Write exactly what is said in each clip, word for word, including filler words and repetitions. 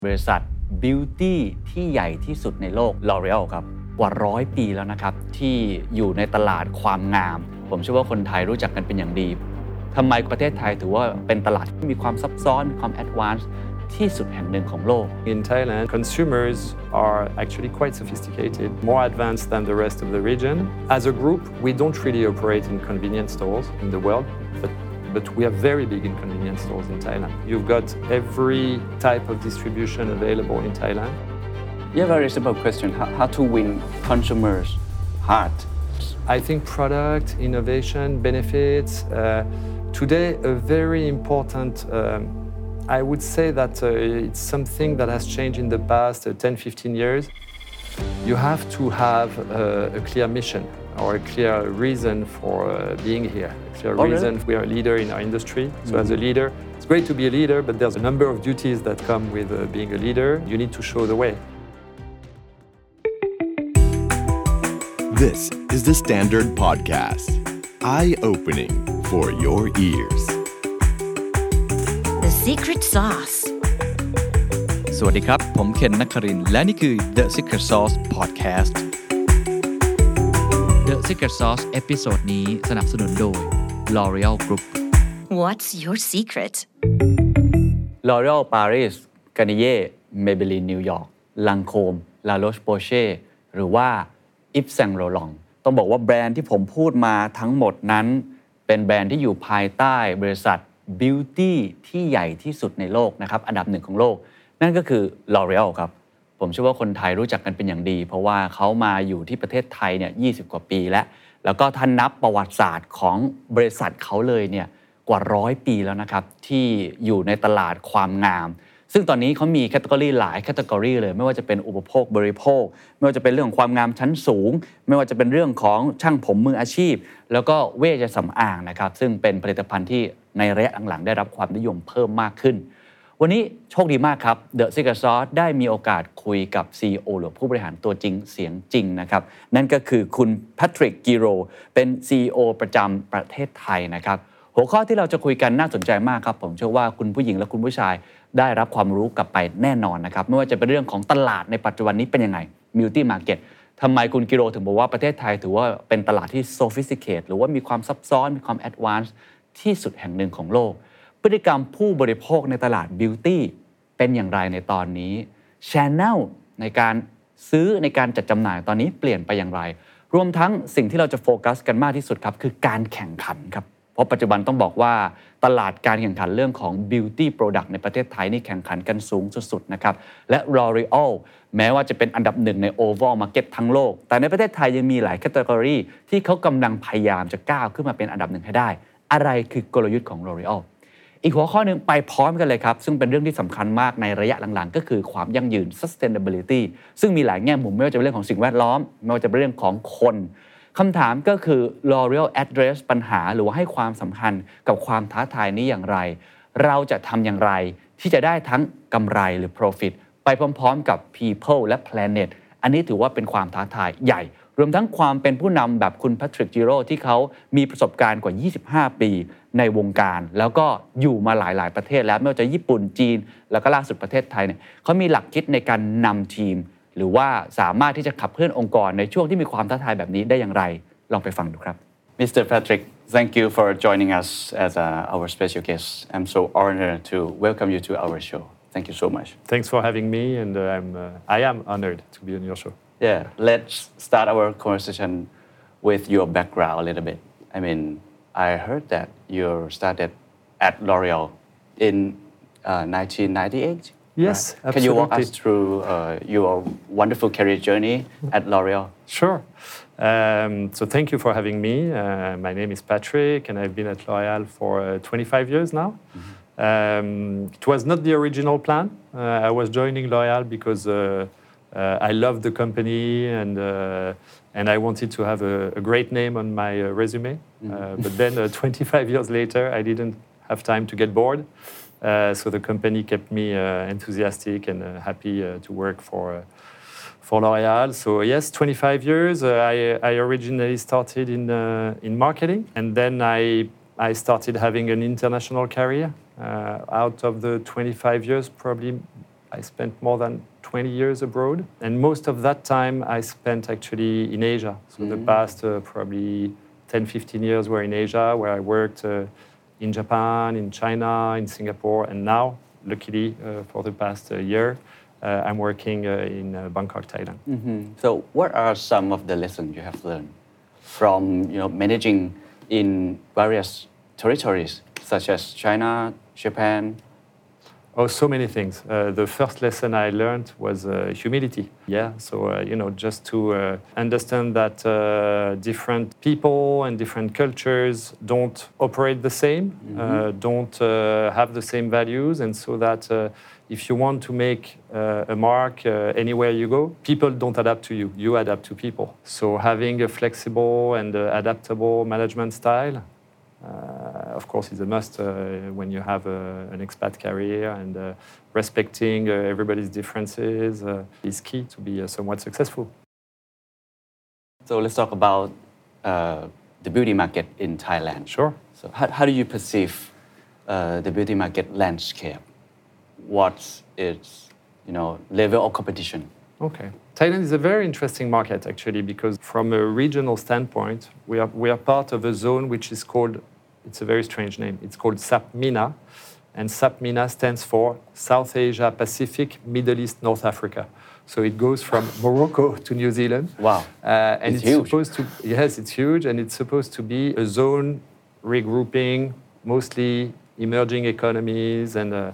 บริษัท Beauty ที่ใหญ่ที่สุดในโลก L'Oreal ครับกว่าร้อยปีแล้วนะครับที่อยู่ในตลาดความงามผมเชื่อว่าคนไทยรู้จักกันเป็นอย่างดีทำไมประเทศไทยถือว่าเป็นตลาดที่มีความซับซ้อนมีความแอดวานซ์ที่สุดแห่งหนึ่งของโลก In Thailand, consumers are actually quite sophisticated, more advanced than the rest of the region. As a group, we don't really operate in convenience stores in the world, but but we are very big in convenience stores in Thailand. You've got every type of distribution available in Thailand. Yeah, very simple question. How, how to win consumers' heart? I think product, innovation, benefits. Uh, today, a very important, um, I would say that uh, it's something that has changed in the past uh, ten, fifteen years. You have to have uh, a clear mission or a clear reason for uh, being here. A clear oh, reason really? we are a leader in our industry. So mm-hmm. as a leader, it's great to be a leader, but there's a number of duties that come with uh, being a leader. You need to show the way. This is the Standard Podcast. Eye-opening for your ears. The Secret Sauce. สวัสดีครับผมเคนนักครินทร์และนี่คือ The Secret Sauce Podcast The Secret Sauce เอพิโซดนี้สนับสนุนโดย L'Oreal Group What's your secret? L'Oreal Paris Garnier Maybelline New York Lancôme La Roche-Posay หรือว่า Yves Saint Laurent ต้องบอกว่าแบรนด์ที่ผมพูดมาทั้งหมดนั้นเป็นแบรนด์ที่อยู่ภายใต้บริษัท Beauty ที่ใหญ่ที่สุดในโลกนะครับอันดับหนึ่งของโลกนั่นก็คือ L'Oreal ครับผมเชื่อว่าคนไทยรู้จักกันเป็นอย่างดีเพราะว่าเขามาอยู่ที่ประเทศไทยเนี่ยยี่สิบกว่าปีแล้วแล้วก็ท่านนับประวัติศาสตร์ของบริษัทเขาเลยเนี่ยกว่าร้อยปีแล้วนะครับที่อยู่ในตลาดความงามซึ่งตอนนี้เขามีแคตตากรีหลายแคตตากรีเลยไม่ว่าจะเป็นอุปโภคบริโภคไม่ว่าจะเป็นเรื่องของความงามชั้นสูงไม่ว่าจะเป็นเรื่องของช่างผมมืออาชีพแล้วก็เวชสำอางนะครับซึ่งเป็นผลิตภัณฑ์ที่ในระยะหลังๆได้รับความนิยมเพิ่มมากขึ้นวันนี้โชคดีมากครับ The Secret Sauce ได้มีโอกาสคุยกับ ซี อี โอ หรือผู้บริหารตัวจริงเสียงจริงนะครับนั่นก็คือคุณแพทริกกิโรเป็น ซี อี โอ ประจำประเทศไทยนะครับหัวข้อที่เราจะคุยกันน่าสนใจมากครับผมเชื่อว่าคุณผู้หญิงและคุณผู้ชายได้รับความรู้กลับไปแน่นอนนะครับไม่ว่าจะเป็นเรื่องของตลาดในปัจจุบันนี้เป็นยังไง Beauty Market ทำไมคุณกิโรถึงบอกว่าประเทศไทยถือว่าเป็นตลาดที่ sophisticated หรือว่ามีความซับซ้อนมีความ advanced ที่สุดแห่งหนึ่งของโลกพฤติกรรมผู้บริโภคในตลาด Beauty เป็นอย่างไรในตอนนี้ Channel ในการซื้อในการจัดจำหน่ายตอนนี้เปลี่ยนไปอย่างไรรวมทั้งสิ่งที่เราจะโฟกัสกันมากที่สุดครับคือการแข่งขันครับเพราะปัจจุบันต้องบอกว่าตลาดการแข่งขันเรื่องของ Beauty Product ในประเทศไทยนี่แข่งขันกันสูงสุดๆนะครับและ L'Oreal แม้ว่าจะเป็นอันดับหนึ่งใน Overall Market ทั้งโลกแต่ในประเทศไทยยังมีหลายแคตตากรีที่เขากำลังพยายามจะก้าวขึ้นมาเป็นอันดับหนึ่งให้ได้อะไรคือกลยุทธ์ของ L'Oreal อีกหัวข้อหนึ่งไปพร้อมกันเลยครับซึ่งเป็นเรื่องที่สำคัญมากในระยะหลังๆก็คือความยั่งยืน sustainability ซึ่งมีหลายแง่มุมไม่ว่าจะเป็นเรื่องของสิ่งแวดล้อมไม่ว่าจะเป็นเรื่องของคนคำถามก็คือ L'Oreal address ปัญหาหรือว่าให้ความสำคัญกับความท้าทายนี้อย่างไรเราจะทำอย่างไรที่จะได้ทั้งกำไรหรือ profit ไปพร้อมๆกับ people และ planet อันนี้ถือว่าเป็นความท้าทายใหญ่รวมทั้งความเป็นผู้นำแบบคุณแพทริกจิโร่ที่เขามีประสบการณ์กว่ายี่สิบห้าปีในวงการแล้วก็อยู่มาหลายๆประเทศแล้วไม่ว่าจะญี่ปุ่นจีนแล้วก็ล่าสุดประเทศไทยเนี่ยเขามีหลักคิดในการนำทีมหรือว่าสามารถที่จะขับเคลื่อนองค์กรในช่วงที่มีความท้าทายแบบนี้ได้อย่างไรลองไปฟังดูครับ มิสเตอร์ Patrick thank you for joining us as uh, our special guest I'm so honored to welcome you to our show thank you so much Thanks for having me, and uh, I'm uh, I am honored to be on your show. Yeah, let's start our conversation with your background a little bit. I mean, I heard that you started at L'Oreal in uh, nineteen ninety-eight. Yes, right? absolutely. Can you walk us through uh, your wonderful career journey at L'Oreal? Sure. Um, so thank you for having me. Uh, my name is Patrick, and I've been at L'Oreal for uh, twenty-five years now. Mm-hmm. Um, it was not the original plan. Uh, I was joining L'Oreal because uh, Uh, I loved the company, and uh, and I wanted to have a, a great name on my uh, resume. Mm-hmm. Uh, but then, uh, twenty-five years later, I didn't have time to get bored. Uh, so the company kept me uh, enthusiastic and uh, happy uh, to work for uh, for L'Oreal. So yes, twenty-five years. Uh, I I originally started in uh, in marketing, and then I I started having an international career. Uh, out of the twenty-five years, probably I spent more than twenty years abroad, and most of that time I spent actually in Asia. So mm. the past uh, probably ten, fifteen years were in Asia, where I worked uh, in Japan, in China, in Singapore, and now, luckily, uh, for the past uh, year, uh, I'm working uh, in uh, Bangkok, Thailand. Mm-hmm. So what are some of the lessons you have learned from you know, managing in various territories, such as China, Japan? Oh, so many things. Uh, the first lesson I learned was uh, humility. Yeah, so uh, you know, just to uh, understand that uh, different people and different cultures don't operate the same, mm-hmm. uh, don't uh, have the same values, and so that uh, if you want to make uh, a mark uh, anywhere you go, people don't adapt to you. You adapt to people. So having a flexible and uh, adaptable management style. Uh, of course, is a must uh, when you have a, an expat career, and uh, respecting uh, everybody's differences uh, is key to be uh, somewhat successful. So let's talk about uh, the beauty market in Thailand. Sure. So how, how do you perceive uh, the beauty market landscape? What's its you know, level of competition? Okay. Thailand is a very interesting market, actually, because from a regional standpoint, we are, we are part of a zone which is called, it's a very strange name, it's called SAPMENA, and SAPMENA stands for South Asia, Pacific, Middle East, North Africa. So it goes from Morocco to New Zealand. Wow. Uh, and it's, it's huge. supposed to, yes, it's huge, and it's supposed to be a zone regrouping mostly emerging economies, and uh,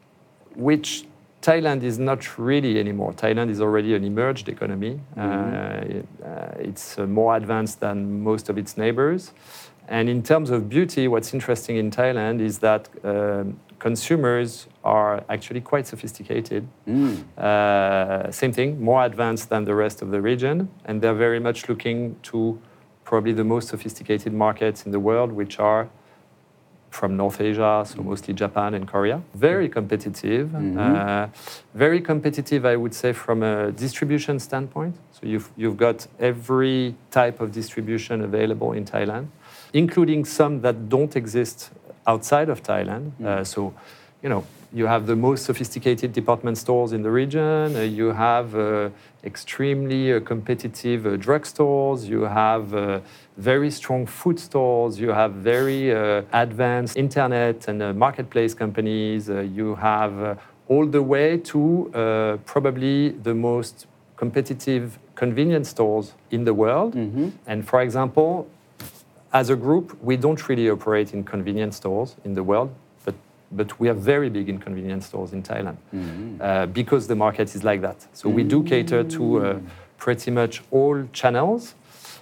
which Thailand is not really anymore. Thailand is already an emerged economy. Mm-hmm. uh, it, uh, it's uh, more advanced than most of its neighbors. And in terms of beauty, what's interesting in Thailand is that um, consumers are actually quite sophisticated. Mm. Uh, same thing, more advanced than the rest of the region. And they're very much looking to probably the most sophisticated markets in the world, which are from North Asia, so mostly Japan and Korea. Very competitive. Mm-hmm. Uh, very competitive, I would say, from a distribution standpoint. So you've, you've got every type of distribution available in Thailand, including some that don't exist outside of Thailand. Mm-hmm. Uh, so, you know, you have the most sophisticated department stores in the region. Uh, you have uh, extremely uh, competitive uh, drugstores. You have uh, very strong food stores. You have very uh, advanced internet and uh, marketplace companies. Uh, you have uh, all the way to uh, probably the most competitive convenience stores in the world. Mm-hmm. And for example, as a group, we don't really operate in convenience stores in the world. But we are very big in convenience stores in Thailand mm-hmm. uh, because the market is like that. So mm-hmm. we do cater to uh, pretty much all channels.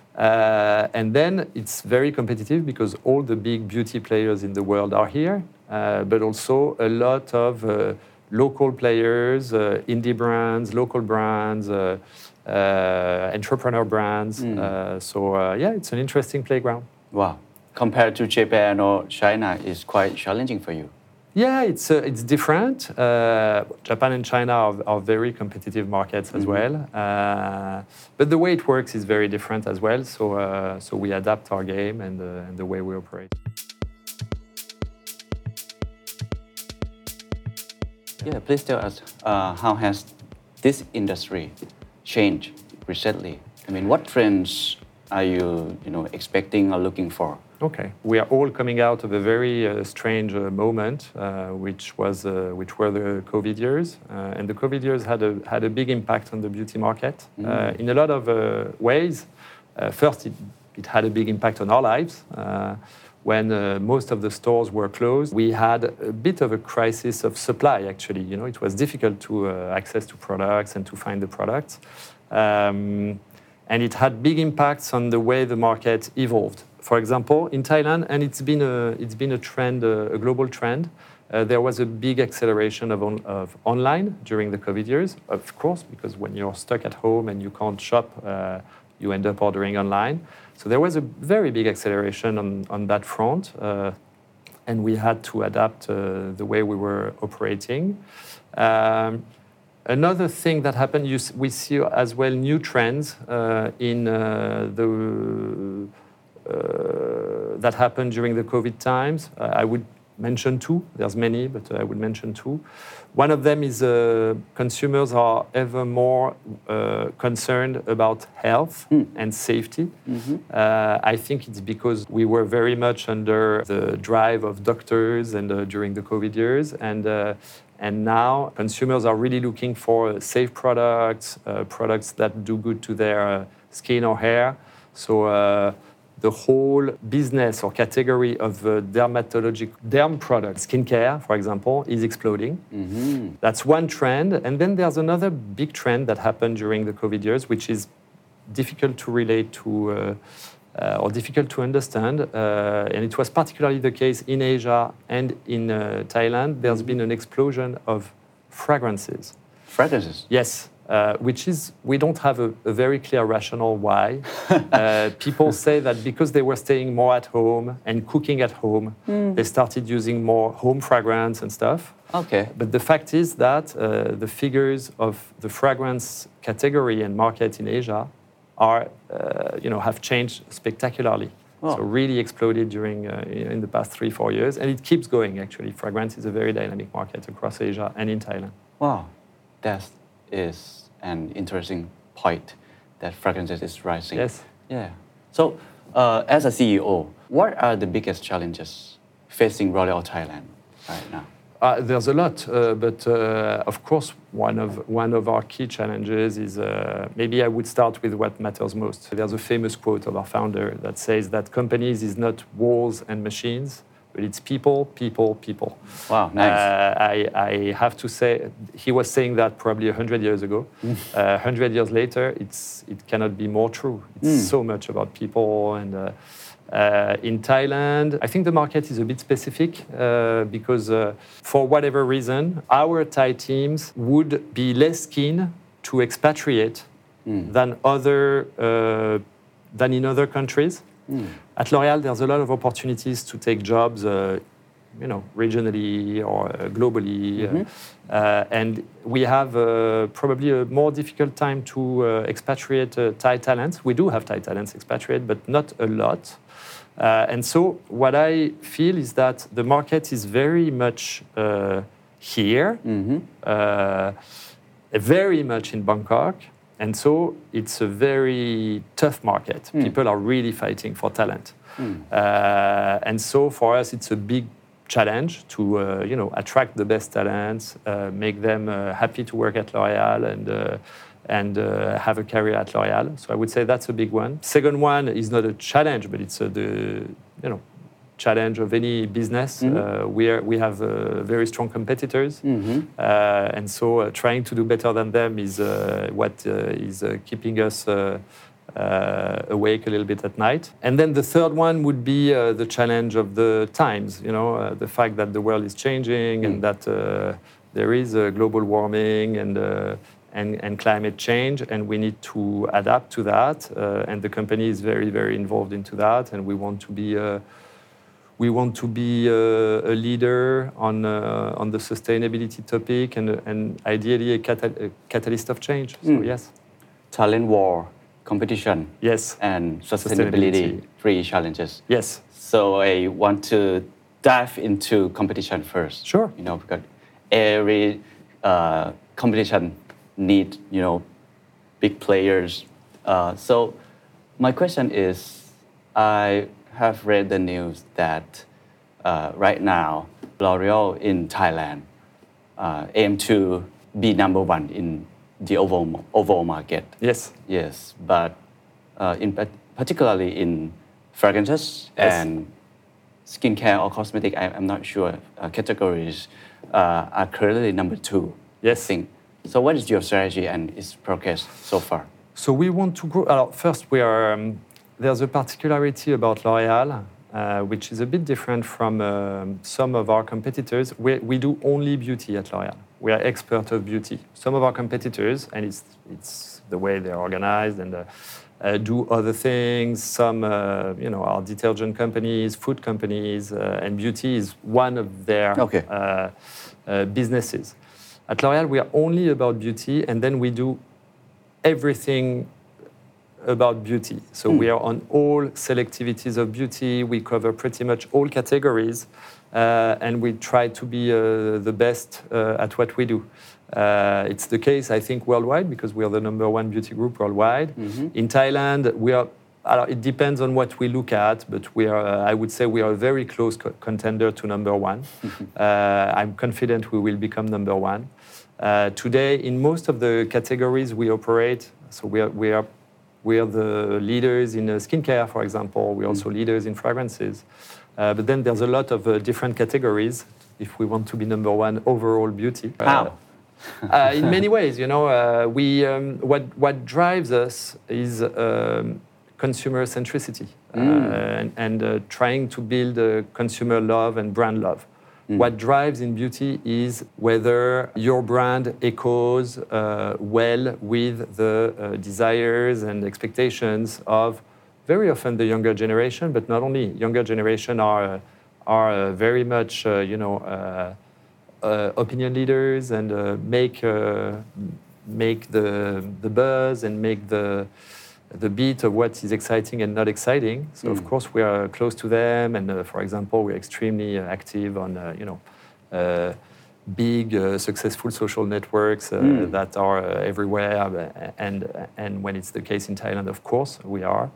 Uh, and then it's very competitive because all the big beauty players in the world are here, uh, but also a lot of uh, local players, uh, indie brands, local brands, uh, uh, entrepreneur brands. Mm. Uh, so uh, yeah, it's an interesting playground. Wow. Compared to Japan or China, it's quite challenging for you. Yeah, it's uh, it's different. Uh, Japan and China are, are very competitive markets as mm-hmm. well, uh, but the way it works is very different as well. So uh, so we adapt our game and, uh, and the way we operate. Yeah, please tell us uh, how has this industry changed recently? I mean, what trends are you you know expecting or looking for? Okay, we are all coming out of a very uh, strange uh, moment, uh, which was uh, which were the COVID years, uh, and the COVID years had a had a big impact on the beauty market mm. uh, in a lot of uh, ways. Uh, first, it, it had a big impact on our lives. Uh, when uh, most of the stores were closed, we had a bit of a crisis of supply. Actually, you know, it was difficult to uh, access to products and to find the products, um, and it had big impacts on the way the market evolved. For example, in Thailand, and it's been a, it's been a trend, uh, a global trend, uh, there was a big acceleration of, on, of online during the COVID years, of course, because when you're stuck at home and you can't shop, uh, you end up ordering online. So there was a very big acceleration on, on that front, uh, and we had to adapt uh, the way we were operating. Um, Another thing that happened, you, we see as well new trends uh, in uh, the... Uh, that happened during the COVID times. Uh, I would mention two. There's many, but I would mention two. One of them is uh, consumers are ever more uh, concerned about health mm. and safety. Mm-hmm. Uh, I think it's because we were very much under the drive of doctors and uh, during the COVID years, and uh, and now consumers are really looking for safe products, uh, products that do good to their uh, skin or hair. So. Uh, The whole business or category of uh, dermatologic derm products, skincare, for example, is exploding. Mm-hmm. That's one trend. And then there's another big trend that happened during the COVID years, which is difficult to relate to uh, uh, or difficult to understand. Uh, and it was particularly the case in Asia and in uh, Thailand. There's been an explosion of fragrances. Fragrances? Yes. Uh, which is, we don't have a, a very clear rationale why. uh, people say that because they were staying more at home and cooking at home, mm. they started using more home fragrance and stuff. Okay. But the fact is that uh, the figures of the fragrance category and market in Asia are, uh, you know, have changed spectacularly. Oh. So really exploded during uh, in the past three, four years, and it keeps going. Actually, fragrance is a very dynamic market across Asia and in Thailand. Wow, that is an interesting point. That fragrances is rising. Yes. Yeah. So, uh, as a C E O, what are the biggest challenges facing L'Oréal Thailand right now? Uh, there's a lot, uh, but uh, of course, one of one of our key challenges is uh, maybe I would start with what matters most. There's a famous quote of our founder that says that companies is not walls and machines, but it's people, people, people. Wow, nice. Uh, I, I have to say, he was saying that probably a hundred years ago. A uh, hundred years later, it's it cannot be more true. It's mm. so much about people and. Uh, Uh, in Thailand, I think the market is a bit specific uh, because uh, for whatever reason, our Thai teams would be less keen to expatriate mm. than other uh, than in other countries. Mm. At L'Oréal, there's a lot of opportunities to take jobs, uh, you know, regionally or uh, globally, mm-hmm. uh, uh, and we have uh, probably a more difficult time to uh, expatriate uh, Thai talents. We do have Thai talents expatriate, but not a lot. Uh, and so what I feel is that the market is very much uh, here, mm-hmm. uh, very much in Bangkok. And so it's a very tough market. Mm. People are really fighting for talent. Mm. Uh, and so for us, it's a big challenge to uh, you know, attract the best talents, uh, make them uh, happy to work at L'Oréal and uh, and uh, have a career at L'Oréal. So I would say that's a big one. Second one is not a challenge, but it's uh, the you know challenge of any business. Mm-hmm. Uh, we are, we have uh, very strong competitors, mm-hmm. uh, and so uh, trying to do better than them is uh, what uh, is uh, keeping us uh, uh, awake a little bit at night. And then the third one would be uh, the challenge of the times. You know, uh, the fact that the world is changing mm. and that uh, there is a global warming and uh, And, and climate change, and we need to adapt to that. Uh, and the company is very, very involved into that. And we want to be, uh, we want to be uh, a leader on uh, on the sustainability topic, and and ideally a, cata- a catalyst of change. So mm. yes, talent war, competition, yes, and sustainability, sustainability, three challenges. Yes. So I want to dive into competition first. Sure. You know, because every uh, competition need, you know, big players. Uh, so my question is, I have read the news that uh, right now, L'Oréal in Thailand uh, aim to be number one in the overall, overall market. Yes. Yes, but uh, in particularly in fragrances yes. and skincare or cosmetic, I, I'm not sure, uh, categories uh, are currently number two. Yes. I think. So what is your strategy and its progress so far? So we want to grow. Uh, first, we are. Um, there's a particularity about L'Oréal, uh, which is a bit different from um, some of our competitors. We, we do only beauty at L'Oréal. We are expert of beauty. Some of our competitors, and it's it's the way they're organized and uh, uh, do other things. Some, uh, you know, are detergent companies, food companies, uh, and beauty is one of their okay. uh, uh, businesses. At L'Oréal, we are only about beauty, and then we do everything about beauty. So mm. we are on all selectivities of beauty. We cover pretty much all categories, uh, and we try to be uh, the best uh, at what we do. Uh, it's the case, I think, worldwide, because we are the number one beauty group worldwide. Mm-hmm. In Thailand, we are. It depends on what we look at, but we are. Uh, I would say we are a very close co- contender to number one. uh, I'm confident we will become number one. Uh, today, in most of the categories we operate, so we are we are we are the leaders in uh, skincare, for example. We're also mm. leaders in fragrances. Uh, but then there's a lot of uh, different categories if we want to be number one overall beauty. How? uh, in many ways, you know, uh, we um, what what drives us is. Um, consumer centricity mm. uh, and, and uh, trying to build uh, consumer love and brand love. Mm. What drives in beauty is whether your brand echoes uh, well with the uh, desires and expectations of very often the younger generation, but not only. Younger generation are, uh, are uh, very much, uh, you know, uh, uh, opinion leaders and uh, make, uh, make the, the buzz and make the the beat of what is exciting and not exciting. So, mm. of course, we are close to them. And, uh, for example, we're extremely uh, active on, uh, you know, uh, big, uh, successful social networks uh, mm. that are uh, everywhere. And, and when it's the case in Thailand, of course, we are.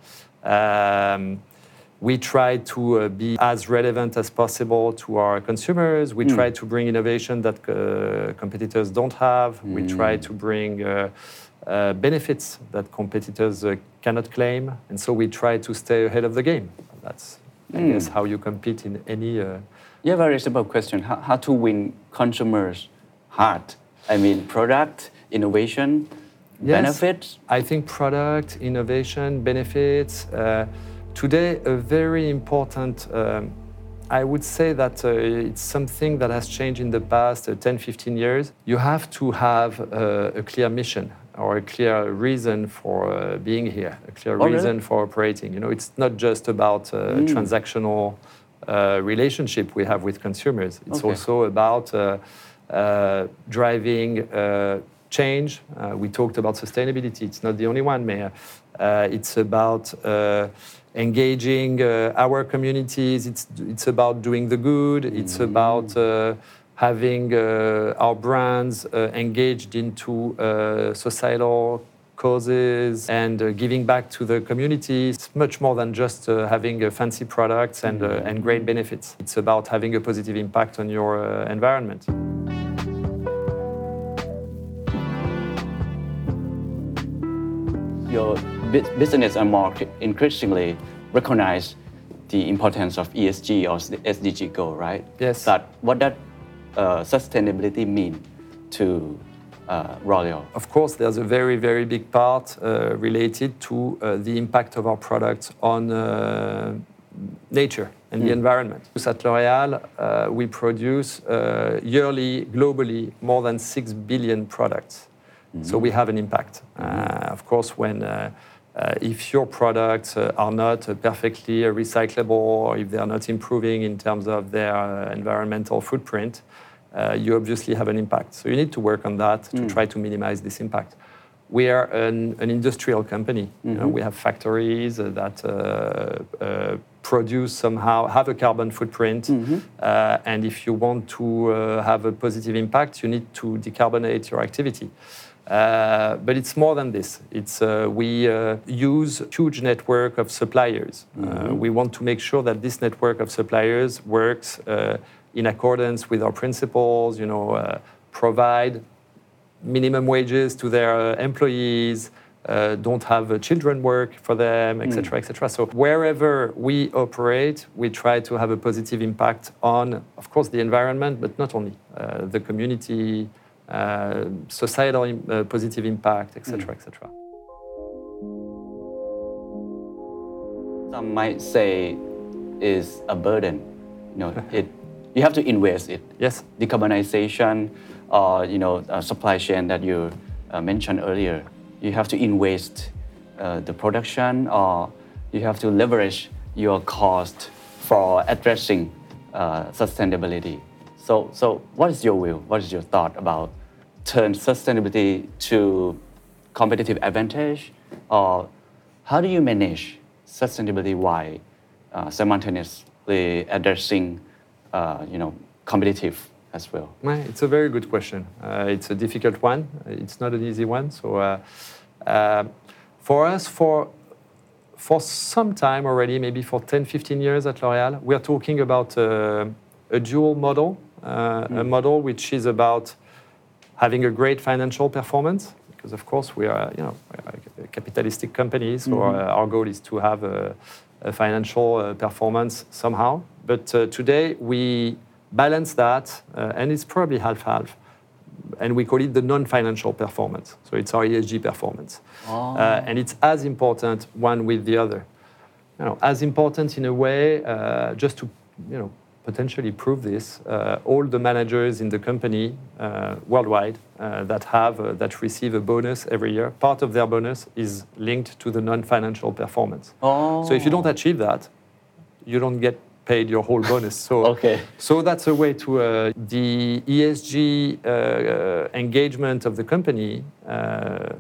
Um, we try to uh, be as relevant as possible to our consumers. We mm. try to bring innovation that uh, competitors don't have. Mm. We try to bring... Uh, Uh, benefits that competitors uh, cannot claim, and so we try to stay ahead of the game. That's, I mm. guess, how you compete in any... Uh... Yeah, very simple question. How, how to win consumers' heart? I mean, product, innovation, yes, benefits? I think product, innovation, benefits. Uh, today, a very important... Um, I would say that uh, it's something that has changed in the past uh, ten, fifteen years. You have to have uh, a clear mission or a clear reason for uh, being here, a clear oh, reason really? for operating. You know, it's not just about uh, mm. transactional uh, relationship we have with consumers. It's okay. also about uh, uh, driving uh, change. Uh, we talked about sustainability. It's not the only one, Mayor. Uh, it's about uh, engaging uh, our communities. It's it's about doing the good. Mm. It's about uh, having uh, our brands uh, engaged into uh, societal causes and uh, giving back to the community. It's much more than just uh, having uh, fancy products and, uh, and great benefits. It's about having a positive impact on your uh, environment. Your business and market increasingly recognize the importance of E S G or the S D G goal, right? Yes. But what that uh, sustainability mean to uh, L'Oréal? Of course, there's a very, very big part uh, related to uh, the impact of our products on uh, nature and mm. the environment. At L'Oréal, uh, we produce uh, yearly, globally, more than six billion products. Mm-hmm. So we have an impact. Mm-hmm. Uh, of course, when uh, uh, if your products uh, are not uh, perfectly uh, recyclable, or if they are not improving in terms of their uh, environmental footprint, uh, you obviously have an impact. So you need to work on that to mm. try to minimize this impact. We are an, an industrial company. Mm-hmm. You know, we have factories uh, that uh, uh, produce somehow, have a carbon footprint. Mm-hmm. Uh, and if you want to uh, have a positive impact, you need to decarbonate your activity. Uh, but it's more than this. It's uh, we uh, use a huge network of suppliers. Mm-hmm. Uh, we want to make sure that this network of suppliers works uh, in accordance with our principles. You know, uh, provide minimum wages to their uh, employees. Uh, don't have uh, children work for them, et cetera, mm. et cetera. So wherever we operate, we try to have a positive impact on, of course, the environment, but not only uh, the community. Uh, societal uh, positive impact, et cetera, mm. et cetera. Some might say is a burden. You know, it you have to invest it. Yes. Decarbonization, or you know, uh, supply chain that you uh, mentioned earlier. You have to invest uh, the production, or you have to leverage your cost for addressing uh, sustainability. So, so what is your view? What is your thought about turn sustainability to competitive advantage, or How do you manage sustainability while uh, simultaneously addressing, uh, you know, competitive as well? Well, it's a very good question. Uh, it's a difficult one. It's not an easy one. So uh, uh, for us, for for some time already, maybe for ten, fifteen years at L'Oréal, we're talking about uh, a dual model, uh, mm. a model which is about having a great financial performance, because of course we are, you know, a capitalistic company, so mm-hmm. our, our goal is to have a, a financial uh, performance somehow. But uh, today we balance that, uh, and it's probably half-half, and we call it the non-financial performance. So it's our E S G performance, oh. uh, and it's as important one with the other. You know, as important in a way, uh, just to, you know, potentially prove this, uh, all the managers in the company uh, worldwide uh, that have uh, that receive a bonus every year, part of their bonus is linked to the non-financial performance. Oh. So if you don't achieve that, you don't get paid your whole bonus. So, okay. so that's a way to uh, the E S G uh, uh, engagement of the company. Uh,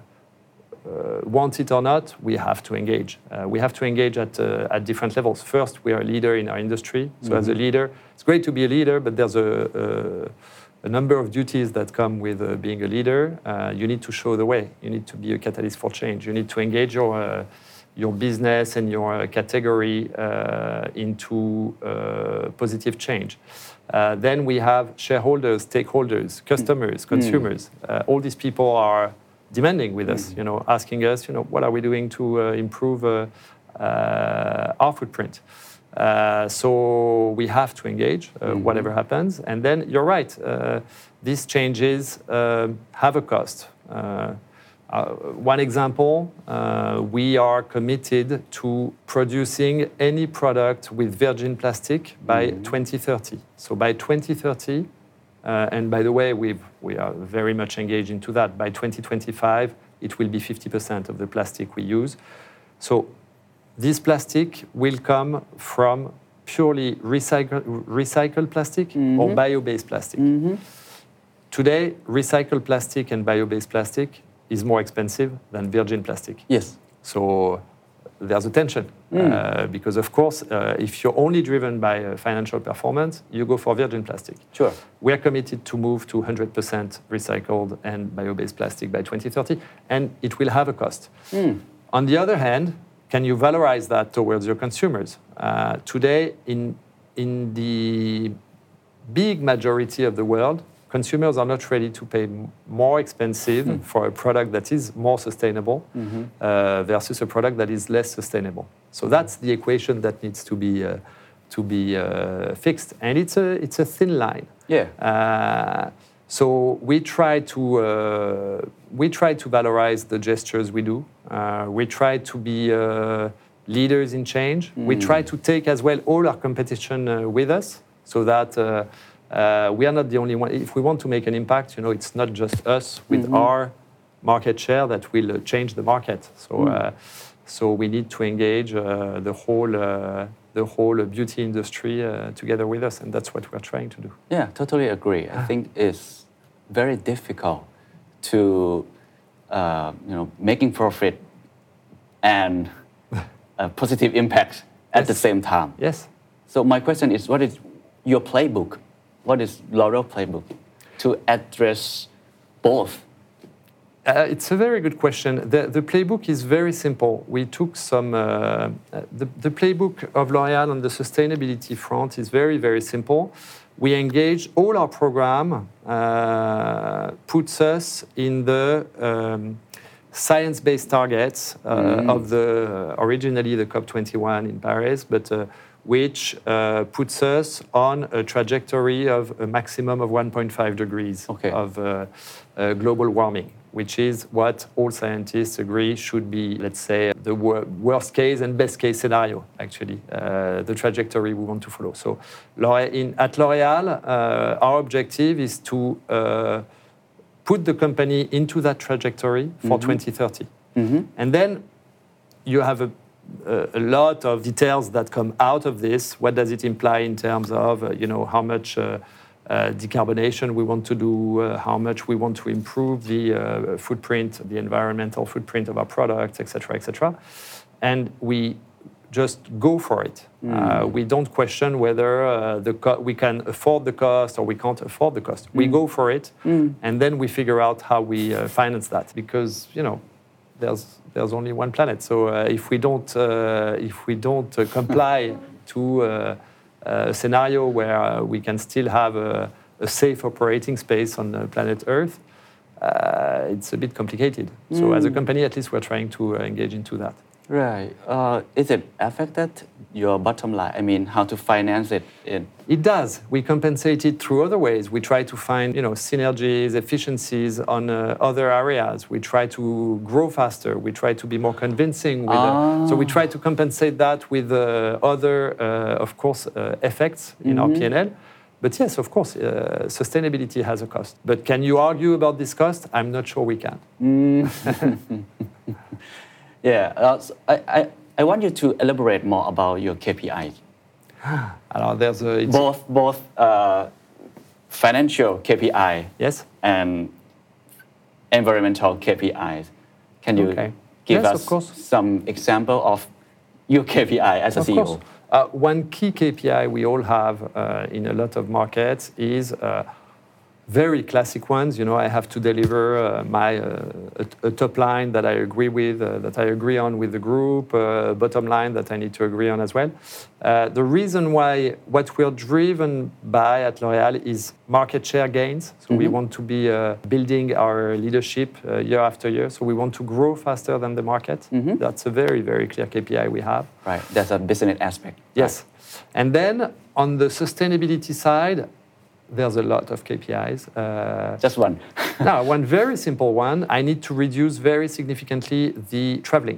Uh, want it or not, we have to engage. Uh, we have to engage at, uh, at different levels. First, we are a leader in our industry. So mm-hmm. as a leader, it's great to be a leader, but there's a, a, a number of duties that come with uh, being a leader. Uh, you need to show the way. You need to be a catalyst for change. You need to engage your, uh, your business and your uh, category uh, into uh, positive change. Uh, then we have shareholders, stakeholders, customers, mm-hmm. consumers. Uh, all these people are demanding with us, you know, asking us, you know, what are we doing to uh, improve uh, uh, our footprint? Uh, so we have to engage, uh, mm-hmm. whatever happens. And then you're right, uh, these changes uh, have a cost. Uh, uh, one example, uh, we are committed to producing any product with virgin plastic by mm-hmm. twenty thirty. So by twenty thirty, Uh, and by the way, we've, we are very much engaged into that. By twenty twenty-five, it will be fifty percent of the plastic we use. So this plastic will come from purely recycle, recycled plastic mm-hmm. or bio-based plastic. Mm-hmm. Today, recycled plastic and bio-based plastic is more expensive than virgin plastic. Yes. So there's a tension. Mm. Uh, because, of course, uh, if you're only driven by uh, financial performance, you go for virgin plastic. Sure. We are committed to move to one hundred percent recycled and bio-based plastic by twenty thirty, and it will have a cost. Mm. On the other hand, can you valorize that towards your consumers? Uh, today, in, in the big majority of the world, consumers are not ready to pay more expensive mm. for a product that is more sustainable mm-hmm. uh, versus a product that is less sustainable. So that's the equation that needs to be uh, to be uh, fixed, and it's a it's a thin line. Yeah. Uh, so we try to uh, we try to valorize the gestures we do. Uh, we try to be uh, leaders in change. Mm. We try to take as well all our competition uh, with us, so that. Uh, Uh, we are not the only one. If we want to make an impact, you know, it's not just us with mm-hmm. our market share that will uh, change the market. So, mm. uh, so we need to engage uh, the whole uh, the whole beauty industry uh, together with us, and that's what we're trying to do. Yeah, totally agree. I think it's very difficult to, uh, you know, making profit and a positive impact at yes. the same time. Yes. So my question is, what is your playbook? What is L'Oréal playbook to address both? Uh, it's a very good question. The, the playbook is very simple. We took some, uh, the, the playbook of L'Oréal on the sustainability front is very, very simple. We engage, all our program uh, puts us in the um, science-based targets uh, mm. of the, uh, originally the COP twenty-one in Paris, but uh, which uh, puts us on a trajectory of a maximum of one point five degrees okay. of uh, uh, global warming, which is what all scientists agree should be, let's say, the wor- worst case and best case scenario, actually, uh, the trajectory we want to follow. So in, at L'Oréal, uh, our objective is to uh, put the company into that trajectory for mm-hmm. twenty thirty. Mm-hmm. And then you have a a lot of details that come out of this. What does it imply in terms of, uh, you know, how much uh, uh, decarbonation we want to do, uh, how much we want to improve the uh, footprint, the environmental footprint of our products, et cetera, et cetera. and we just go for it. Mm. Uh, we don't question whether uh, the co- we can afford the cost or we can't afford the cost. Mm. We go for it, mm. and then we figure out how we uh, finance that. Because you know, there's there's only one planet. So uh, if we don't uh, if we don't uh, comply to uh, a scenario where uh, we can still have a, a safe operating space on the planet Earth, uh, it's a bit complicated. Mm. So as a company, at least we're trying to uh, engage into that. Right. Uh, is it affected your bottom line? I mean, how to finance it? In... It does. We compensate it through other ways. We try to find, you know, synergies, efficiencies on uh, other areas. We try to grow faster. We try to be more convincing. With, ah. uh, so we try to compensate that with uh, other, uh, of course, uh, effects in mm-hmm. our P and L. But yes, of course, uh, sustainability has a cost. But can you argue about this cost? I'm not sure we can. Mm. Yeah, uh, so I, I, I want you to elaborate more about your K P Is. Alors, there's a, it's both both uh, financial K P I yes. and environmental K P Is. Can you okay. give yes, us of course. some example of your K P I as a of C E O? Course. Uh, one key K P I we all have uh, in a lot of markets is uh, very classic ones. You know, I have to deliver uh, my uh, a, a top line that I agree with, uh, that I agree on with the group, uh, bottom line that I need to agree on as well. Uh, the reason why what we're driven by at L'Oréal is market share gains. So mm-hmm. we want to be uh, building our leadership uh, year after year. So we want to grow faster than the market. Mm-hmm. That's a very, very clear K P I we have. Right. That's a business aspect. Yes. Right. And then on the sustainability side, there's a lot of K P Is. Uh, Just one. No, one very simple one. I need to reduce very significantly the traveling.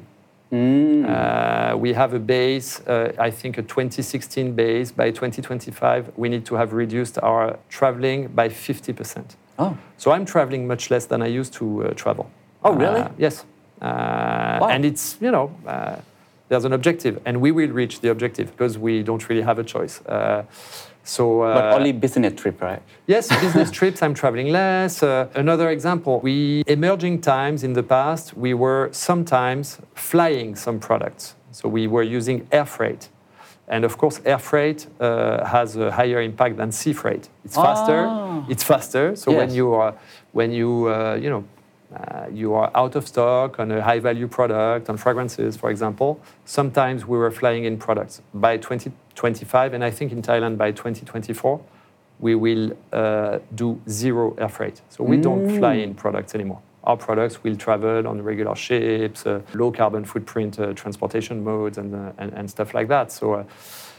Mm. Uh, we have a base, uh, I think a twenty sixteen base. By twenty twenty-five, we need to have reduced our traveling by fifty percent. Oh. So I'm traveling much less than I used to uh, travel. Oh, really? Uh, yes. Uh, wow. And it's, you know, uh, there's an objective, and we will reach the objective because we don't really have a choice. Uh, So, uh, but only business trip, right? Yes, business trips, I'm traveling less. Uh, another example, we, emerging times in the past, we were sometimes flying some products. So we were using air freight. And of course, air freight uh, has a higher impact than sea freight. It's faster, ah. it's faster. So yes. when you are, when you, uh, you know, Uh, you are out of stock on a high-value product, on fragrances, for example. Sometimes we were flying in products. By twenty twenty-five, and I think in Thailand by twenty twenty-four, we will uh, do zero air freight. So we mm. don't fly in products anymore. Our products will travel on regular ships, uh, low carbon footprint uh, transportation modes, and, uh, and, and stuff like that. So. Uh,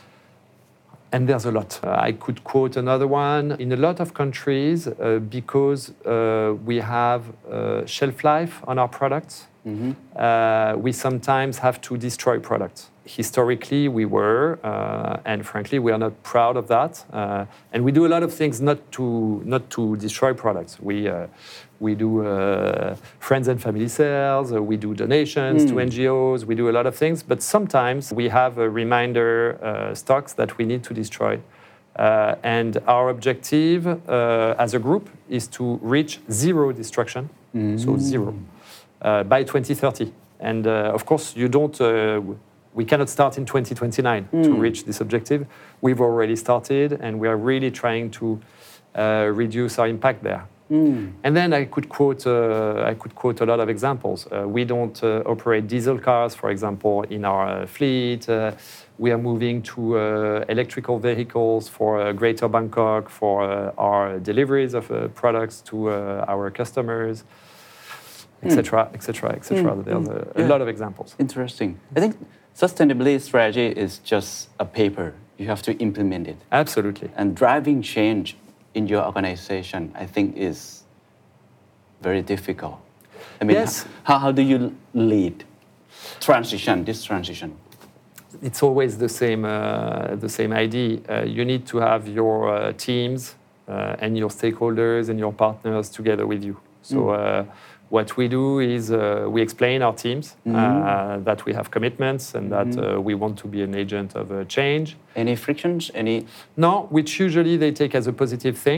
And there's a lot. Uh, I could quote another one. In a lot of countries, uh, because uh, we have uh, shelf life on our products, mm-hmm. uh, we sometimes have to destroy products. Historically, we were, uh, and frankly, we are not proud of that. Uh, and we do a lot of things not to not to destroy products. We uh, we do uh, friends and family sales. Uh, we do donations mm. to N G Os. We do a lot of things. But sometimes we have a reminder uh, stocks that we need to destroy. Uh, and our objective uh, as a group is to reach zero destruction, mm. so zero, uh, by twenty thirty. And uh, of course, you don't. Uh, We cannot start in twenty twenty-nine mm. to reach this objective. We've already started, and we are really trying to uh, reduce our impact there. Mm. And then I could quote, uh, I could quote a lot of examples. Uh, we don't uh, operate diesel cars, for example, in our uh, fleet. Uh, we are moving to uh, electrical vehicles for uh, Greater Bangkok for uh, our deliveries of uh, products to uh, our customers, et cetera, et cetera, et cetera. There's a, a yeah. lot of examples. Interesting. I think sustainability strategy is just a paper. You have to implement it. Absolutely. And driving change in your organization, I think, is very difficult. I mean, yes. how, how do you lead transition, this transition? It's always the same, uh, the same idea. Uh, you need to have your uh, teams uh, and your stakeholders and your partners together with you. So. Mm. Uh, What we do is uh, we explain our teams mm-hmm. uh, that we have commitments and that mm-hmm. uh, we want to be an agent of uh, change. Any frictions? Any? No, which usually they take as a positive thing.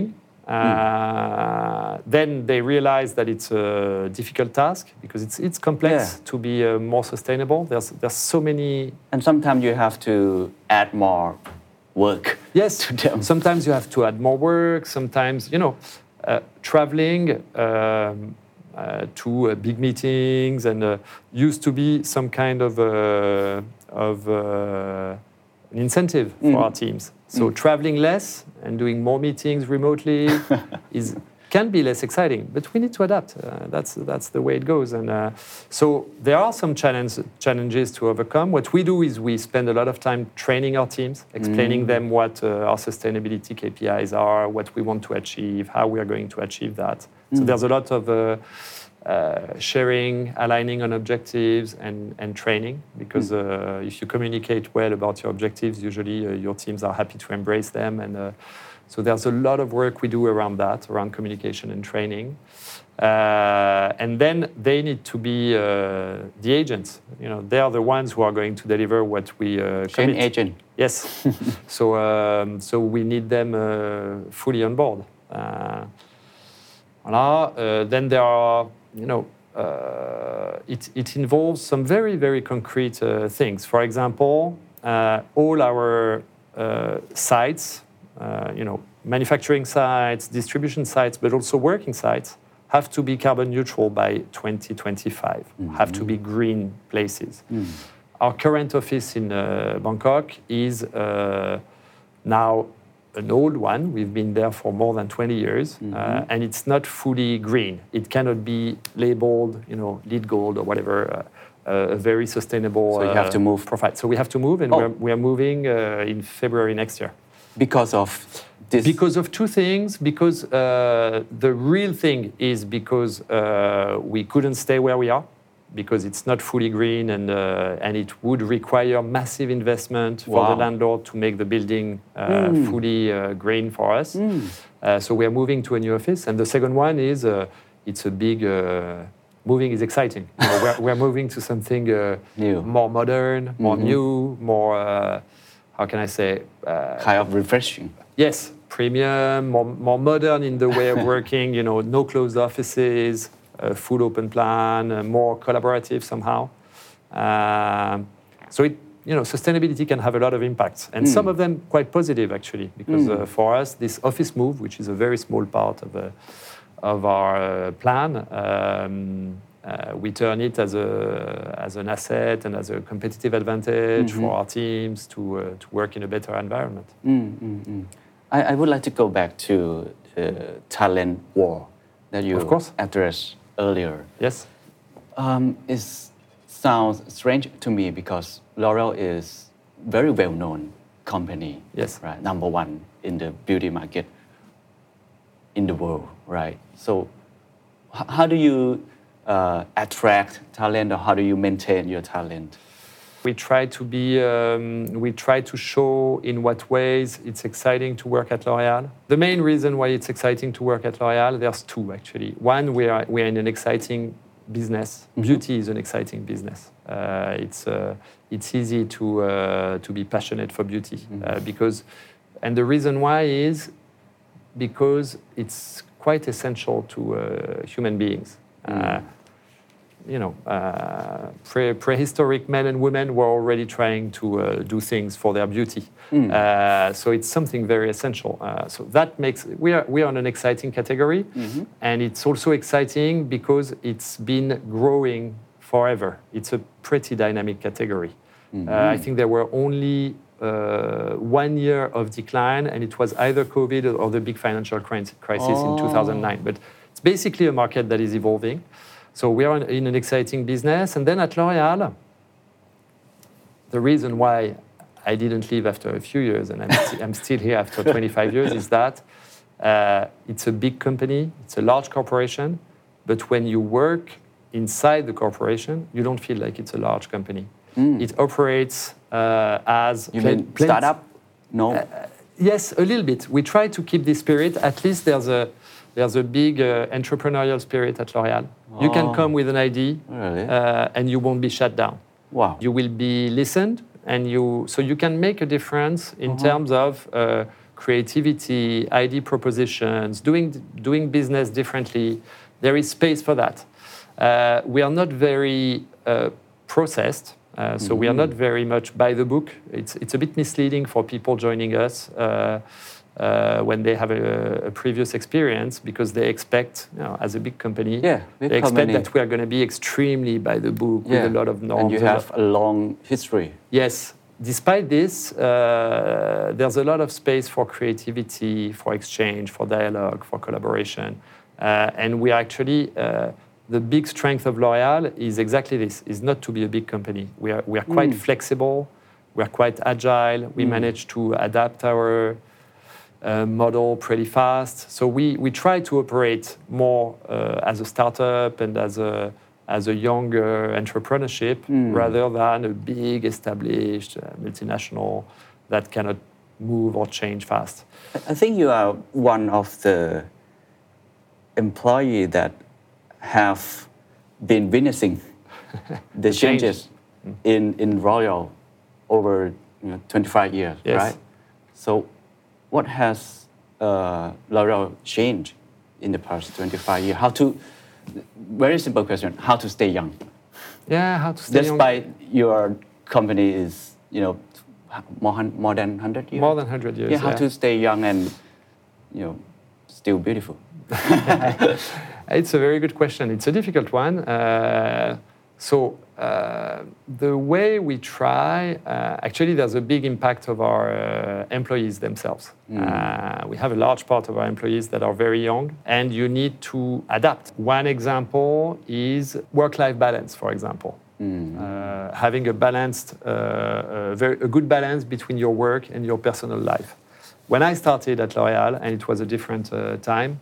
Uh, then they realize that it's a difficult task because it's it's complex Yeah. to be uh, more sustainable. There's there's so many. And sometimes you have to add more work. Yes, to them. sometimes you have to add more work. Sometimes you know, uh, traveling um, uh, to uh, big meetings and uh, used to be some kind of uh, of uh, an incentive for Mm. our teams. So traveling less and doing more meetings remotely is can be less exciting, but we need to adapt. Uh, that's that's the way it goes. And uh, so there are some challenge, challenges to overcome. What we do is we spend a lot of time training our teams, explaining them what uh, our sustainability K P Is are, what we want to achieve, how we are going to achieve that. So there's a lot of uh, uh, sharing, aligning on objectives, and, and training. Because uh, if you communicate well about your objectives, usually uh, your teams are happy to embrace them. And uh, so there's a lot of work we do around that, around communication and training. Uh, and then they need to be uh, the agents. You know, they are the ones who are going to deliver what we uh, Change commit. agent. Yes. so um, so we need them uh, fully on board. Uh, voilà. Uh, then there are, you know, uh, it, it involves some very, very concrete uh, things. For example, uh, all our uh, sites, uh, you know, manufacturing sites, distribution sites, but also working sites, have to be carbon neutral by twenty twenty-five, mm-hmm. have to be green places. Mm. Our current office in uh, Bangkok is uh, now an old one. We've been there for more than twenty years, mm-hmm. uh, and it's not fully green. It cannot be labeled, you know, LEED Gold or whatever, uh, uh, a very sustainable So you have to move. profile. So we have to move, and Oh. we're, we are moving uh, in February next year. Because of this? Because of two things. Because uh, the real thing is because uh, we couldn't stay where we are, because it's not fully green, and uh, and it would require massive investment for Wow. the landlord to make the building uh, Mm. fully uh, green for us. Mm. Uh, so we are moving to a new office. And the second one is uh, it's a big. Uh, moving is exciting. You know, we're, we're moving to something uh, New. more modern, more Mhm. new, more. Uh, how can I say? Uh, Kind of refreshing. Yes, premium, more, more modern in the way of working, you know, no closed offices, a full open plan, uh, more collaborative somehow. Um, so, it, you know, sustainability can have a lot of impacts, and Mm. some of them quite positive, actually, because Mm. uh, for us, this office move, which is a very small part of, uh, of our uh, plan, um, uh, we turn it as, a, as an asset and as a competitive advantage Mhm. for our teams to, uh, to work in a better environment. Mm, mm, mm. I, I would like to go back to the talent war that you Of course. addressed earlier. Yes. Um, it sounds strange to me because L'Oreal is very well-known company. Yes. Right, number one in the beauty market in the world, right? So, h- how do you uh, attract talent, or how do you maintain your talent? We try to be, um, we try to show in what ways it's exciting to work at L'Oréal. The main reason why it's exciting to work at L'Oréal, there's two actually. One, we are, we are in an exciting business. Mm-hmm. Beauty is an exciting business. Uh, it's, uh, it's easy to, uh, to be passionate for beauty Mm-hmm. uh, because, and the reason why is because it's quite essential to uh, human beings. Uh, you know, uh, pre- prehistoric men and women were already trying to uh, do things for their beauty. Mm. Uh, so it's something very essential. Uh, so that makes, we are, we are in an exciting category. Mm-hmm. And it's also exciting because it's been growing forever. It's a pretty dynamic category. Mm-hmm. Uh, I think there were only uh, one year of decline, and it was either COVID or the big financial cri- crisis Oh. in two thousand nine. But it's basically a market that is evolving. So we are in an exciting business. And then at L'Oréal, the reason why I didn't leave after a few years, and I'm, st- I'm still here after twenty-five years, is that uh, it's a big company, it's a large corporation, but when you work inside the corporation, you don't feel like it's a large company. Mm. It operates uh, as... You plen- mean plen- startup? No. Uh, yes, a little bit. We try to keep this spirit. At least there's a there's a big uh, entrepreneurial spirit at L'Oréal. You Oh. can come with an idea, Really? uh, and you won't be shut down. Wow. You will be listened, and you so you can make a difference in Uh-huh. terms of uh, creativity, I D propositions, doing, doing business differently. There is space for that. Uh, we are not very uh, processed, uh, so mm-hmm. we are not very much by the book. It's, it's a bit misleading for people joining us uh, uh, when they have a, a previous experience, because they expect, you know, as a big company, yeah, big they expect company. that we are going to be extremely by the book yeah. with a lot of norms. And you have a long history. Yes. Despite this, uh, there's a lot of space for creativity, for exchange, for dialogue, for collaboration. Uh, and we are actually, uh, the big strength of L'Oréal is exactly this, is not to be a big company. We are, we are quite mm. flexible, we are quite agile, we mm. manage to adapt our uh, model pretty fast. So we, we try to operate more uh, as a startup and as a as a younger entrepreneurship mm. rather than a big established uh, multinational that cannot move or change fast. I think you are one of the employees that have been witnessing the changes mm. in, in Royal over you know, twenty-five years, yes. right? So what has uh, L'Oréal changed in the past twenty-five years? How to Very simple question: how to stay young? Yeah, how to stay Despite young. Despite your company is, you know, more, more than one hundred years. More than one hundred years. Yeah, how yeah. to stay young and, you know, still beautiful? It's a very good question. It's a difficult one. Uh, so uh, the way we try, uh, actually, there's a big impact of our uh, employees themselves. Mm. Uh, we have a large part of our employees that are very young, and you need to adapt. One example is work-life balance, for example. Mm. Uh, having a balanced, uh, a, very, a good balance between your work and your personal life. When I started at L'Oréal, and it was a different uh, time,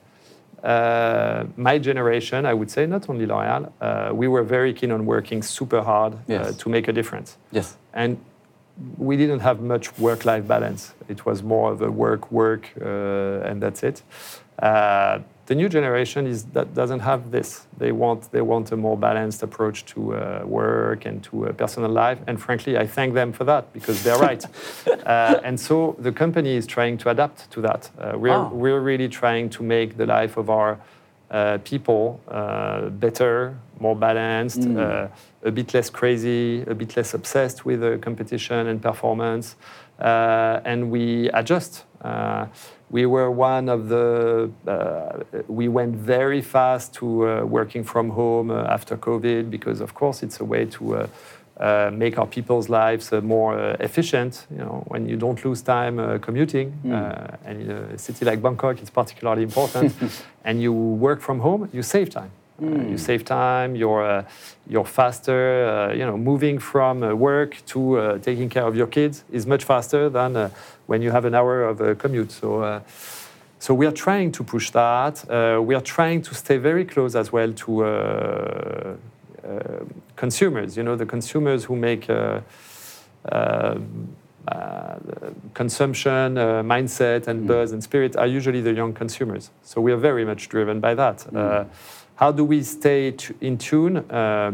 Uh, my generation, I would say, not only L'Oréal, uh, we were very keen on working super hard yes. uh, to make a difference. Yes. And we didn't have much work-life balance. It was more of a work, work, uh, and that's it. Uh, the new generation is that doesn't have this. They want they want a more balanced approach to uh, work and to uh, personal life. And frankly, I thank them for that, because they're right. uh, and so the company is trying to adapt to that. Uh, we're oh. we're really trying to make the life of our uh, people uh, better, more balanced, mm. uh, a bit less crazy, a bit less obsessed with uh, competition and performance, uh, and we adjust. Uh, We were one of the, uh, we went very fast to uh, working from home uh, after COVID, because of course it's a way to uh, uh, make our people's lives uh, more uh, efficient. You know, when you don't lose time uh, commuting, mm. uh, and in a city like Bangkok, it's particularly important, and you work from home, you save time. Mm. Uh, you save time, you're, uh, you're faster, uh, you know, moving from uh, work to uh, taking care of your kids is much faster than uh, when you have an hour of a commute. So, uh, so we are trying to push that. Uh, we are trying to stay very close as well to uh, uh, consumers, you know, the consumers who make uh, uh, uh, consumption, uh, mindset and mm. buzz and spirit are usually the young consumers. So we are very much driven by that. Mm. Uh, How do we stay t- in tune? Uh,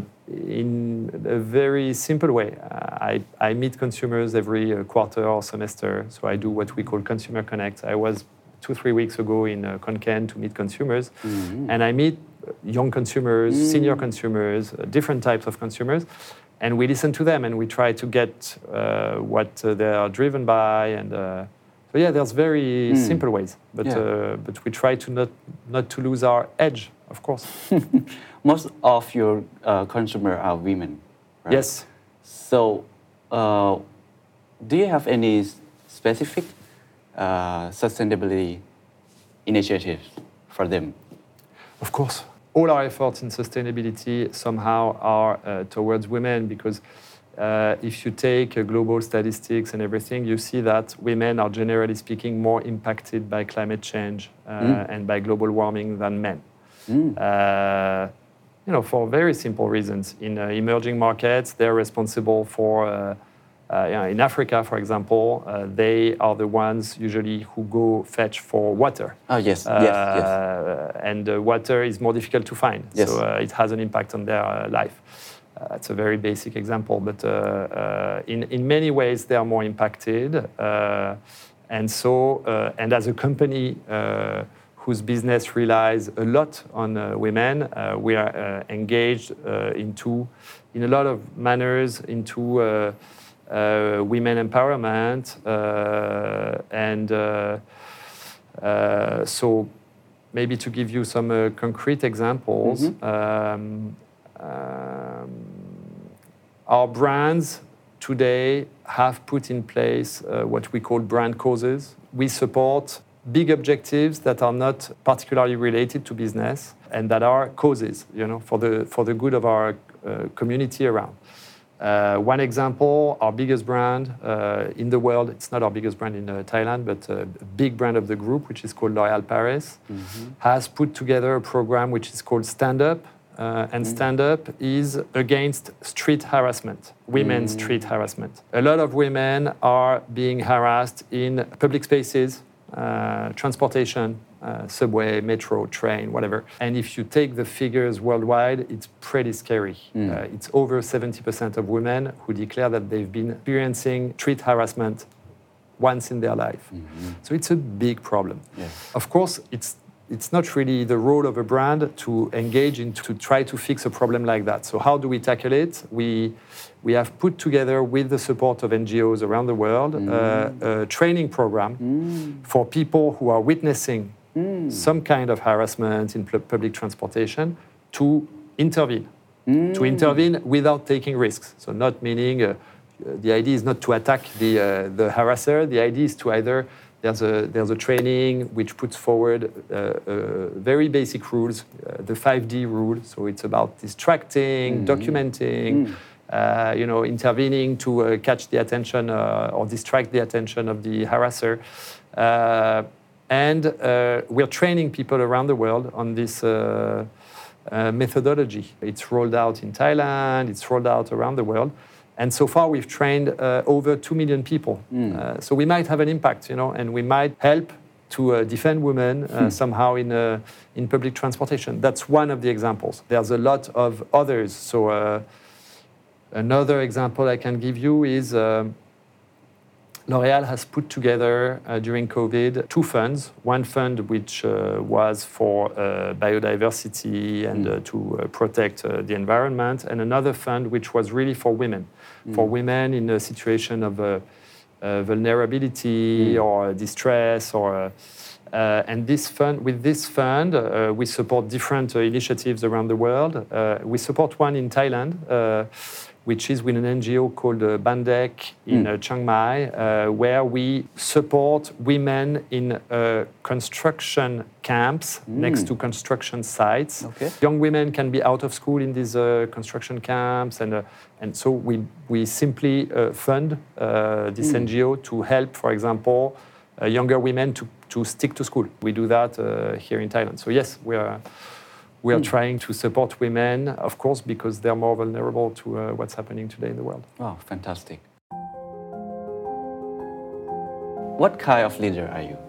in a very simple way. Uh, I, I meet consumers every uh, quarter or semester, so I do what we call Consumer Connect. I was two, three weeks ago in uh, Konkan to meet consumers, mm-hmm. and I meet young consumers, mm. senior consumers, uh, different types of consumers, and we listen to them and we try to get uh, what uh, they are driven by. And uh, so yeah, there's very mm. simple ways, but yeah. uh, but we try to not not to lose our edge. Of course. Most of your uh, consumers are women, right? Yes. So, uh, do you have any specific uh, sustainability initiatives for them? Of course. All our efforts in sustainability somehow are uh, towards women, because uh, if you take uh, global statistics and everything, you see that women are generally speaking more impacted by climate change uh, mm. and by global warming than men. Mm. Uh, you know, for very simple reasons. In uh, emerging markets, they're responsible for, uh, uh, you know, in Africa, for example, uh, they are the ones usually who go fetch for water. Oh, yes, uh, yes, yes. And uh, water is more difficult to find, yes. so uh, it has an impact on their uh, life. Uh, it's a very basic example, but uh, uh, in, in many ways, they are more impacted. Uh, And so, uh, and as a company uh, whose business relies a lot on uh, women, uh, we are uh, engaged uh, into, in a lot of manners, into uh, uh, women empowerment, uh, and uh, uh, so maybe to give you some uh, concrete examples, mm-hmm. um, um, our brands today have put in place uh, what we call brand causes. We support big objectives that are not particularly related to business and that are causes, you know, for the for the good of our uh, community around. Uh, one example, our biggest brand uh, in the world, it's not our biggest brand in uh, Thailand, but a big brand of the group, which is called L'Oréal Paris, mm-hmm. has put together a program which is called Stand Up. Uh, and Stand Up is against street harassment, women's mm. street harassment. A lot of women are being harassed in public spaces, uh, transportation, uh, subway, metro, train, whatever. And if you take the figures worldwide, it's pretty scary. Mm. Uh, it's over seventy percent of women who declare that they've been experiencing street harassment once in their life. Mm-hmm. So it's a big problem. Yes. Of course, it's It's not really the role of a brand to engage in to try to fix a problem like that. So how do we tackle it? We, we have put together, with the support of N G Os around the world, mm. uh, a training program mm. for people who are witnessing mm. some kind of harassment in public transportation to intervene. Mm. To intervene without taking risks. So not meaning, uh, the idea is not to attack the, uh, the harasser. The idea is to either There's a, there's a training which puts forward uh, uh, very basic rules, uh, the five D rule. So it's about distracting, mm-hmm. documenting, mm. uh, you know, intervening to uh, catch the attention uh, or distract the attention of the harasser. Uh, and uh, we're training people around the world on this uh, uh, methodology. It's rolled out in Thailand, it's rolled out around the world. And so far, we've trained uh, over two million people. Mm. Uh, so we might have an impact, you know, and we might help to uh, defend women uh, hmm. somehow in uh, in public transportation. That's one of the examples. There's a lot of others. So uh, another example I can give you is uh, L'Oréal has put together uh, during COVID two funds. One fund which uh, was for uh, biodiversity and mm. uh, to uh, protect uh, the environment, and another fund which was really for women, mm. for women in a situation of uh, uh, vulnerability mm. or distress, or uh, uh, and this fund, with this fund, uh, we support different uh, initiatives around the world. Uh, we support one in Thailand. Uh, which is with an N G O called uh, Bandek in mm. uh, Chiang Mai, uh, where we support women in uh, construction camps mm. next to construction sites. Okay. Young women can be out of school in these uh, construction camps, and uh, and so we we simply uh, fund uh, this mm. N G O to help, for example, uh, younger women to, to stick to school. We do that uh, here in Thailand. So yes, we are. We are mm. trying to support women, of course, because they're more vulnerable to uh, what's happening today in the world. Wow, fantastic. What kind of leader are you?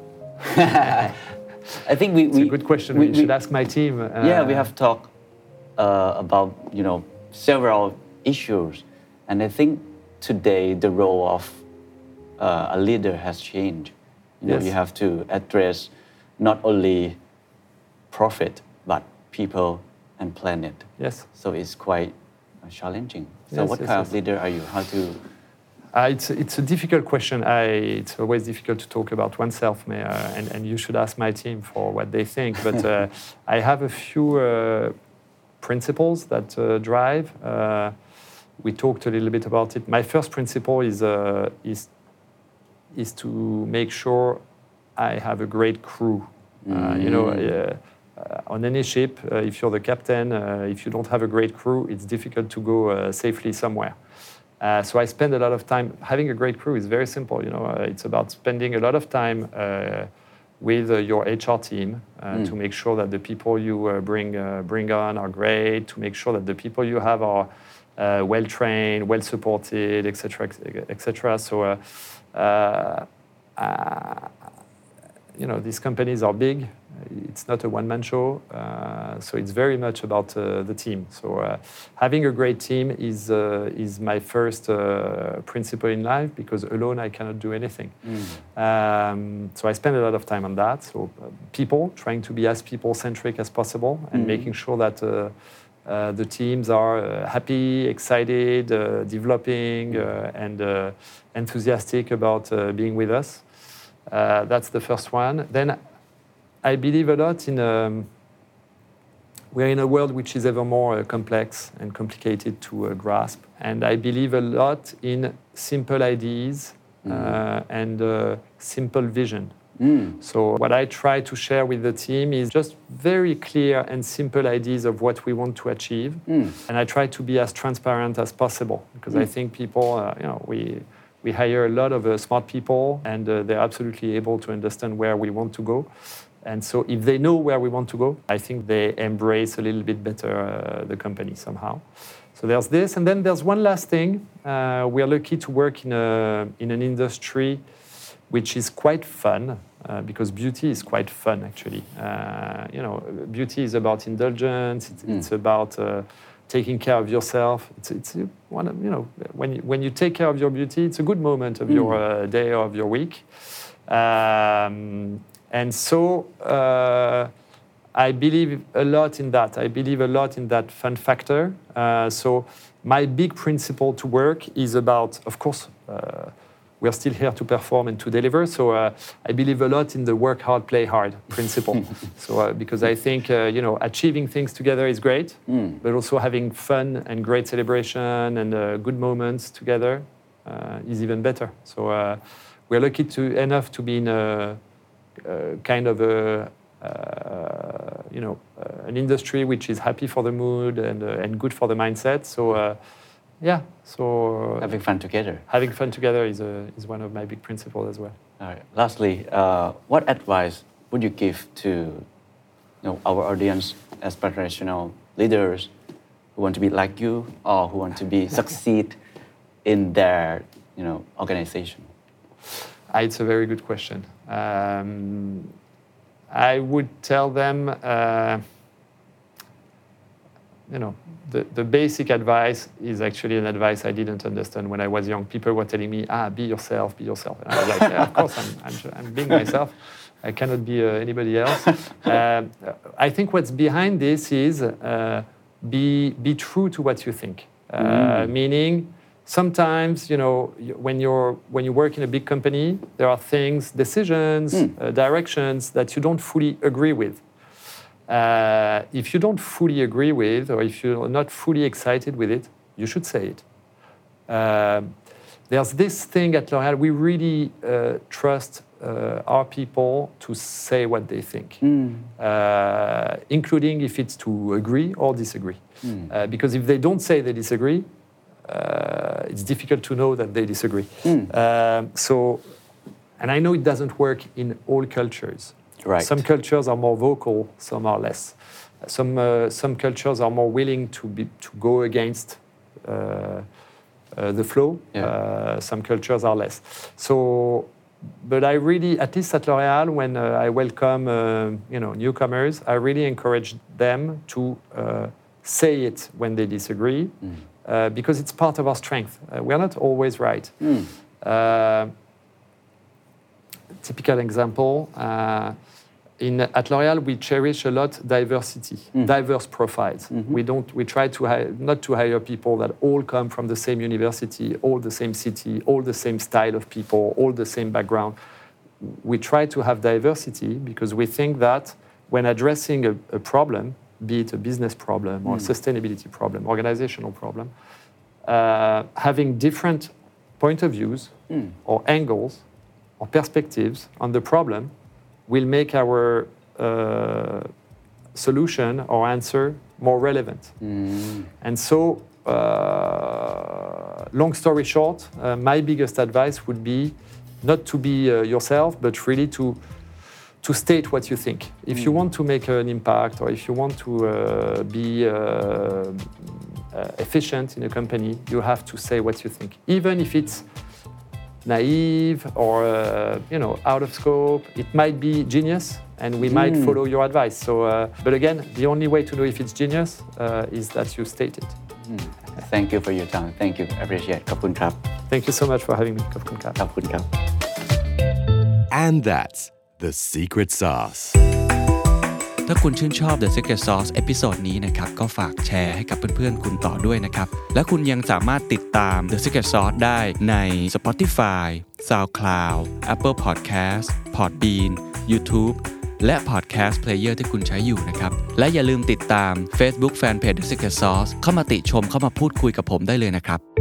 I think we... It's we, a good question. We, we should we, ask my team. Uh, yeah, we have talked uh, about, you know, several issues. And I think today the role of uh, a leader has changed. You know, yes. you have to address not only profit, but people and planet. Yes. So it's quite uh, challenging. So yes, what yes, kind yes. of leader are you? How to... Uh, it's, it's a difficult question. I, it's always difficult to talk about oneself, may, uh, and, and you should ask my team for what they think. But uh, I have a few uh, principles that uh, drive. Uh, we talked a little bit about it. My first principle is, uh, is, is to make sure I have a great crew. Uh, mm. You know, uh, Uh, on any ship, uh, if you're the captain, uh, if you don't have a great crew, it's difficult to go uh, safely somewhere. Uh, so I spend a lot of time. Having a great crew is very simple. You know, uh, it's about spending a lot of time uh, with uh, your H R team uh, mm. to make sure that the people you uh, bring uh, bring on are great. To make sure that the people you have are uh, well trained, well supported, et cetera, et cetera. So, uh, uh, uh, you know, these companies are big. it's not a one-man show, uh, so it's very much about uh, the team. So uh, having a great team is uh, is my first uh, principle in life, because alone I cannot do anything. Mm. Um, so I spend a lot of time on that. So uh, people, trying to be as people-centric as possible, and mm. making sure that uh, uh, the teams are uh, happy, excited, uh, developing, uh, and uh, enthusiastic about uh, being with us. Uh, that's the first one. Then I believe a lot in, um, we're in a world which is ever more uh, complex and complicated to uh, grasp. And I believe a lot in simple ideas mm. uh, and uh, simple vision. Mm. So what I try to share with the team is just very clear and simple ideas of what we want to achieve. Mm. And I try to be as transparent as possible, because mm. I think people, uh, you know, we, we hire a lot of uh, smart people, and uh, they're absolutely able to understand where we want to go. And so if they know where we want to go, I think they embrace a little bit better uh, the company somehow. So there's this. And then there's one last thing. Uh, we are lucky to work in, a, in an industry which is quite fun, uh, because beauty is quite fun, actually. Uh, you know, beauty is about indulgence. It's, mm. it's about uh, taking care of yourself. It's, it's one of, you know, when you, when you take care of your beauty, it's a good moment of mm. your uh, day or of your week. Um, And so uh, I believe a lot in that. I believe a lot in that fun factor. Uh, so my big principle to work is about, of course, uh, we are still here to perform and to deliver. So uh, I believe a lot in the work hard, play hard principle. so uh, because I think, uh, you know, achieving things together is great, mm. but also having fun and great celebration and uh, good moments together uh, is even better. So uh, we're lucky to enough to be in a Uh, kind of a, uh, you know, uh, an industry which is happy for the mood and uh, and good for the mindset. So, uh, yeah. So uh, having fun together. Having fun together is a, is one of my big principles as well. All right. Lastly, uh, what advice would you give to, you know, our audience, aspirational leaders who want to be like you or who want to be succeed in their, you know, organization? It's a very good question. Um, I would tell them, uh, you know, the, the basic advice is actually an advice I didn't understand when I was young. People were telling me, ah, be yourself, be yourself. And I was like, yeah, of course, I'm, I'm, I'm being myself. I cannot be uh, anybody else. Uh, I think what's behind this is uh, be, be true to what you think. Uh, mm. Meaning, sometimes, you know, when you're when you work in a big company, there are things, decisions, mm. uh, directions that you don't fully agree with. Uh, if you don't fully agree with, or if you're not fully excited with it, you should say it. Uh, there's this thing at L'Oréal, we really uh, trust uh, our people to say what they think, mm. uh, including if it's to agree or disagree. Mm. Uh, because if they don't say they disagree, Uh, it's difficult to know that they disagree. Mm. Uh, so, and I know it doesn't work in all cultures. Right. Some cultures are more vocal, some are less. Some uh, some cultures are more willing to be to go against uh, uh, the flow. Yeah. Uh, some cultures are less. So, but I really, at least at L'Oréal, when uh, I welcome uh, you know newcomers, I really encourage them to uh, say it when they disagree. Mm. Uh, because it's part of our strength. Uh, we are not always right. Mm. Uh, typical example, uh, in, at L'Oréal, we cherish a lot diversity, mm. diverse profiles. Mm-hmm. We don't. We try to hire, not to hire people that all come from the same university, all the same city, all the same style of people, all the same background. We try to have diversity because we think that when addressing a, a problem, be it a business problem or mm. a sustainability problem, organizational problem, uh, having different point of views mm. or angles or perspectives on the problem will make our uh, solution or answer more relevant. Mm. And so, uh, long story short, uh, my biggest advice would be not to be uh, yourself, but really to to state what you think. If mm. you want to make an impact, or if you want to uh, be uh, uh, efficient in a company, you have to say what you think, even if it's naive or uh, you know out of scope. It might be genius, and we might follow your advice. So, uh, but again, the only way to know if it's genius uh, is that you state it. Thank you for your time. Thank you. Appreciate. ขอบคุณครับ Thank you so much for having me. ขอบคุณครับขอบคุณครับ And that's the secret sauce. ถ้าคุณชื่นชอบ The Secret Sauce เอพิโซดนี้นะครับก็ฝากแชร์ให้กับเพื่อนๆคุณต่อด้วยนะครับและคุณยังสามารถติดตาม The Secret Sauce ได้ใน Spotify, SoundCloud, Apple Podcast, Podbean, YouTube และ Podcast Player ที่คุณใช้อยู่นะครับและอย่าลืมติดตาม Facebook Fanpage The Secret Sauce เข้ามาติชมเข้ามาพูดคุยกับผมได้เลยนะครับ